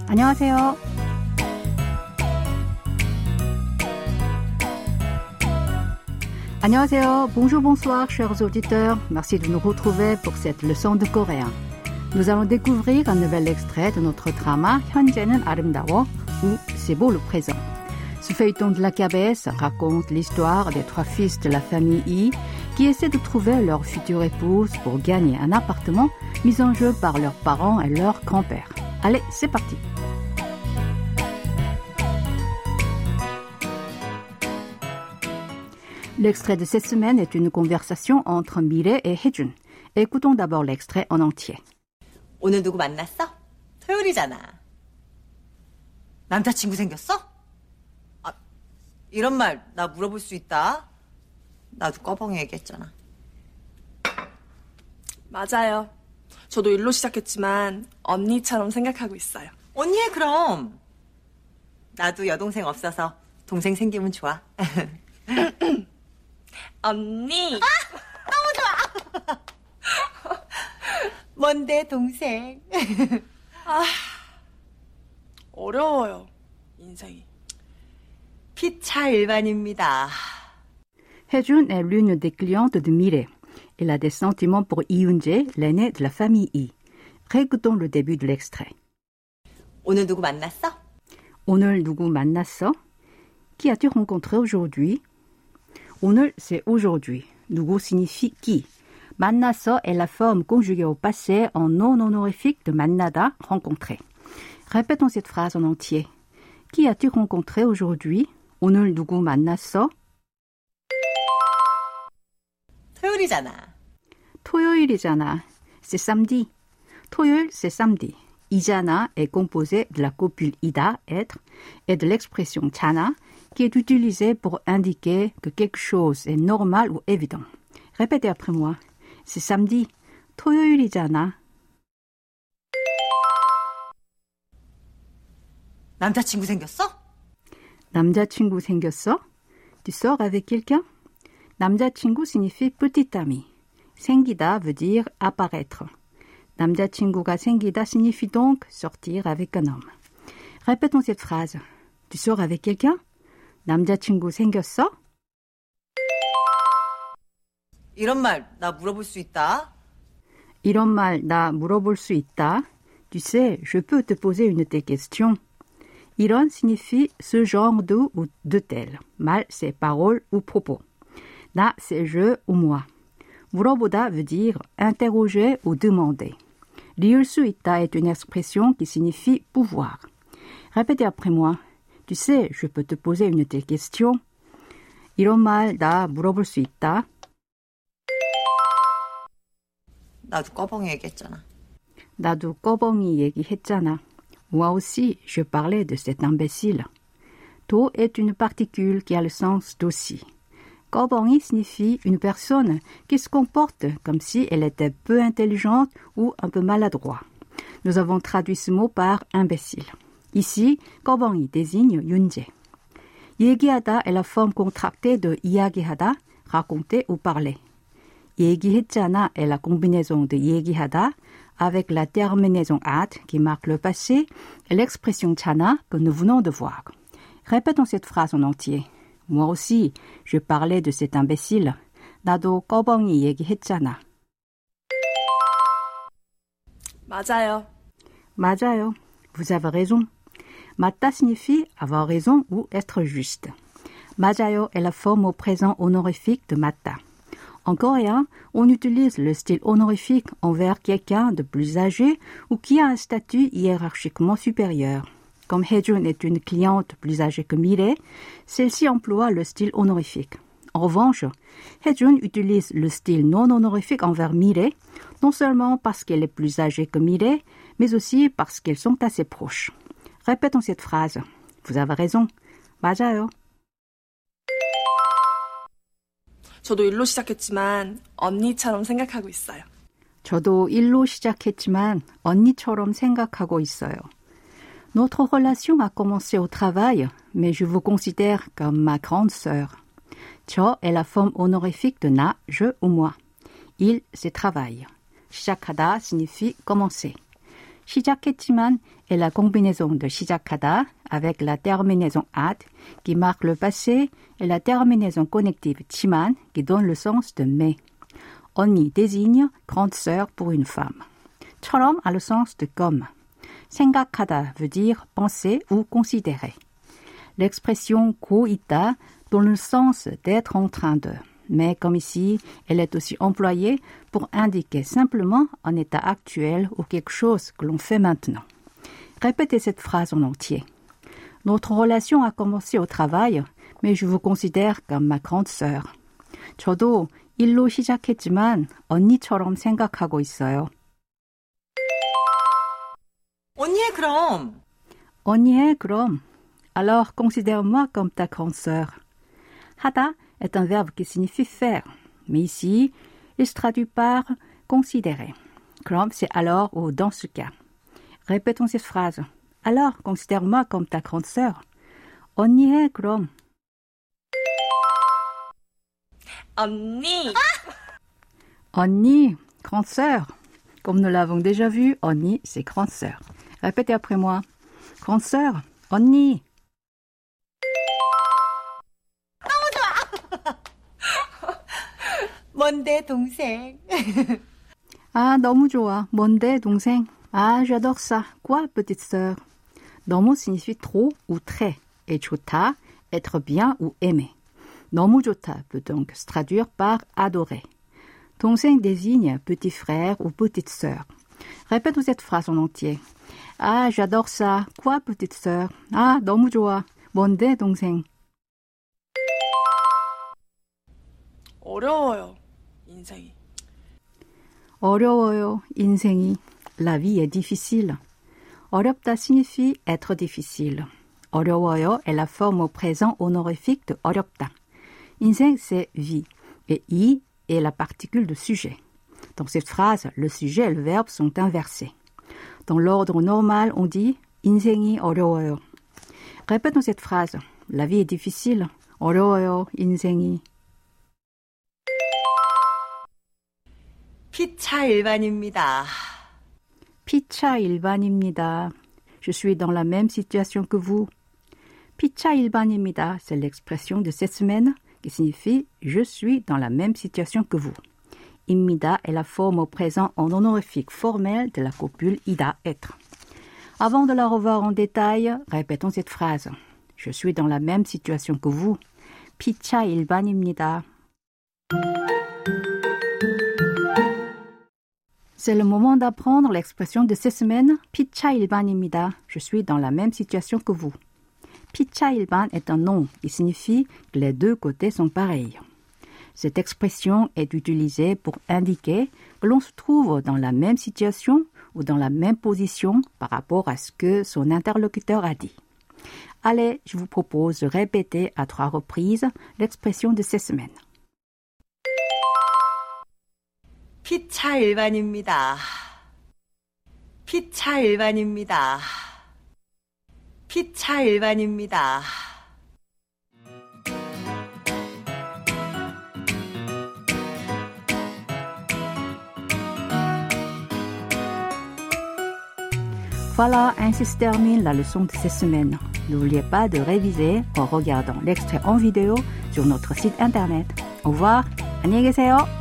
안녕하세요. 안녕하세요. Bonjour, bonsoir, chers auditeurs. Merci de nous retrouver pour cette leçon de coréen. Nous allons découvrir un nouvel extrait de notre drama 현재는 아름다워 ou C'est beau le présent. Ce feuilleton de la KBS raconte l'histoire des 3 fils de la famille Yi qui essaient de trouver leur future épouse pour gagner un appartement mis en jeu par leurs parents et leur grand-père. Allez, c'est parti. L'extrait de cette semaine est une conversation entre 미래 et 혜준. Écoutons d'abord l'extrait en entier. 오늘 누구 만났어? 토요일이잖아. 남자친구 생겼어? 아, 이런 말 나 물어볼 수 있다. 나도 꺼벙이 얘기했잖아. 맞아요. 저도 일로 시작했지만 언니처럼 생각하고 있어요. 언니 해 그럼. 나도 여동생 없어서 동생 생기면 좋아. 언니! 너무 좋아! 뭔데 동생? 어려워요, 인생이. 피차 일반입니다. 혜준 est l'une des clientes de Mireille. Elle a des sentiments pour Yoon-jae, l'aîné de la famille Yi. Récoutons le début de l'extrait. 오늘 누구 만났어? 오늘 누구 만났어? Qui as-tu rencontré aujourd'hui? 오늘, c'est aujourd'hui. 누구 signifie qui. 만났어 est la forme conjuguée au passé en non honorifique de 만나다, rencontrer. Répétons cette phrase en entier. Qui as-tu rencontré aujourd'hui? 오늘 누구 만났어? 토요일이잖아. 토요일이잖아. C'est samedi. 토요일, c'est samedi. 이잖아 est composé de la copule ida, être, et de l'expression 잖아, qui est utilisée pour indiquer que quelque chose est normal ou évident. Répétez après moi. C'est samedi. 토요일이잖아. 남자친구 생겼어? 남자친구 생겼어? Tu sors avec quelqu'un? 남자친구 signifie petit ami. 생기다 veut dire apparaître. 남자친구가 생기다 signifie donc sortir avec un homme. Répétons cette phrase. Tu sors avec quelqu'un? 남자친구 생겼어? 이런 말 나 물어볼 수 있다. 이런 말 나 물어볼 수 있다. Tu sais, je peux te poser une de tes questions. 이런 signifie ce genre de ou de tel. 말, c'est parole ou propos. 나, c'est je ou moi. 물어보다 veut dire interroger ou demander. 리을 수 있다 est une expression qui signifie pouvoir. Répétez après moi. Tu sais, je peux te poser une de tes questions. 이런 말 나 물어볼 수 있다. 나도 꺼벙이 얘기했잖아. 나도 꺼벙이 얘기했잖아. Moi aussi, je parlais de cet imbécile. 도 est une particule qui a le sens d'aussi. 꺼벙이 signifie une personne qui se comporte comme si elle était peu intelligente ou un peu maladroit. Nous avons traduit ce mot par imbécile. Ici, 꺼벙이 désigne Yoon-jae. 얘기하다 est la forme contractée de 이야기하다, raconter ou parler. 얘기했잖아 est la combinaison de 얘기하다 avec la terminaison at qui marque le passé et l'expression 잖아 que nous venons de voir. Répétons cette phrase en entier. Moi aussi, je parlais de cet imbécile. 나도 꺼벙이 얘기했잖아. 맞아요. 맞아요. Vous avez raison. 맞다 signifie avoir raison ou être juste. 맞아요 est la forme au présent honorifique de 맞다. En coréen, on utilise le style honorifique envers quelqu'un de plus âgé ou qui a un statut hiérarchiquement supérieur. Comme 혜준 est une cliente plus âgée que Mireille, celle-ci emploie le style honorifique. En revanche, 혜준 utilise le style non honorifique envers Mireille, non seulement parce qu'elle est plus âgée que Mireille, mais aussi parce qu'elles sont assez proches. Répétons cette phrase. Vous avez raison. 맞아요. 저도 일로 시작했지만 언니처럼 생각하고 있어요. 저도 일로 시작했지만 언니처럼 생각하고 있어요. Notre relation a commencé au travail, mais je vous considère comme ma grande sœur. 저 est la forme honorifique de 나, je ou moi. Il, c'est travail. 시작하다 signifie commencer. 시작했지만 est la combinaison de 시작하다 avec la terminaison ad qui marque le passé et la terminaison connective 지만 qui donne le sens de mais. 언니 désigne grande sœur pour une femme. 처럼 a le sens de comme. 생각하다 veut dire penser ou considérer. L'expression 고 있다 donne le sens d'être en train de. Mais comme ici, elle est aussi employée pour indiquer simplement un état actuel ou quelque chose que l'on fait maintenant. Répétez cette phrase en entier. Notre relation a commencé au travail, mais je vous considère comme ma grande sœur. 저도 일로 시작했지만 언니처럼 생각하고 있어요. 언니해 그럼. 언니해 그럼. Alors considère-moi comme ta grande sœur. 하다 est un verbe qui signifie faire, mais ici, il se traduit par considérer. 그럼 c'est alors ou dans ce cas. Répétons cette phrase. Alors, considère-moi comme ta grande sœur. 언니해 그럼. 언니. 언니, grande sœur. Comme nous l'avons déjà vu, 언니, c'est grande sœur. Répétez après moi. Grande sœur, 언니. 뭔데 동생. Ah, 너무 좋아. 뭔데, 동생? Ah, j'adore ça. Quoi, petite sœur? 너무 signifie trop ou très. Et 좋다, être bien ou aimer. 너무 좋다 peut donc se traduire par adorer. 동생 désigne petit frère ou petite sœur. Répète cette phrase en entier. Ah, j'adore ça. Quoi, petite sœur? Ah, 너무 좋아. 뭔데, 동생? 어려워요, 인생이. 어려워요, 인생이. La vie est difficile. 어렵다 signifie être difficile. 어려워요 est la forme au présent honorifique de 어렵다. 인생, c'est vie. Et i est la particule de sujet. Dans cette phrase, le sujet et le verbe sont inversés. Dans l'ordre normal, on dit 인생이 어려워요. Répétons cette phrase. La vie est difficile. 어려워요, 인생이. 피차 일반입니다. 피차 일반입니다. Je suis dans la même situation que vous. 피차 일반입니다, c'est l'expression de cette semaine qui signifie « je suis dans la même situation que vous ». 입니다 est la forme au présent en honorifique formel de la copule ida, être. Avant de la revoir en détail, répétons cette phrase. Je suis dans la même situation que vous. 피차 일반입니다. C'est le moment d'apprendre l'expression de cette semaine 피차 일반입니다. Je suis dans la même situation que vous. 피차 일반 est un nom qui signifie que les deux côtés sont pareils. Cette expression est utilisée pour indiquer que l'on se trouve dans la même situation ou dans la même position par rapport à ce que son interlocuteur a dit. Allez, je vous propose de répéter à 3 reprises l'expression de cette semaine. 피차 일반입니다. 피차 일반입니다. 피차 일반입니다. Voilà, ainsi se termine la leçon de cette semaine. N'oubliez pas de réviser en regardant l'extrait en vidéo sur notre site internet. Au revoir, 안녕히 계세요.